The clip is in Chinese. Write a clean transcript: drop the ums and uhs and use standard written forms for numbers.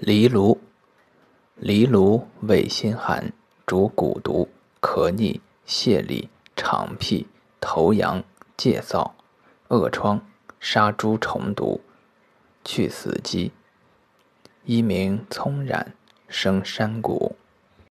藜芦，藜芦味辛寒，主蛊毒、咳逆、泻痢、肠癖、头痒、介燥、恶疮，杀诸虫毒，去死机。一名葱染，生山谷。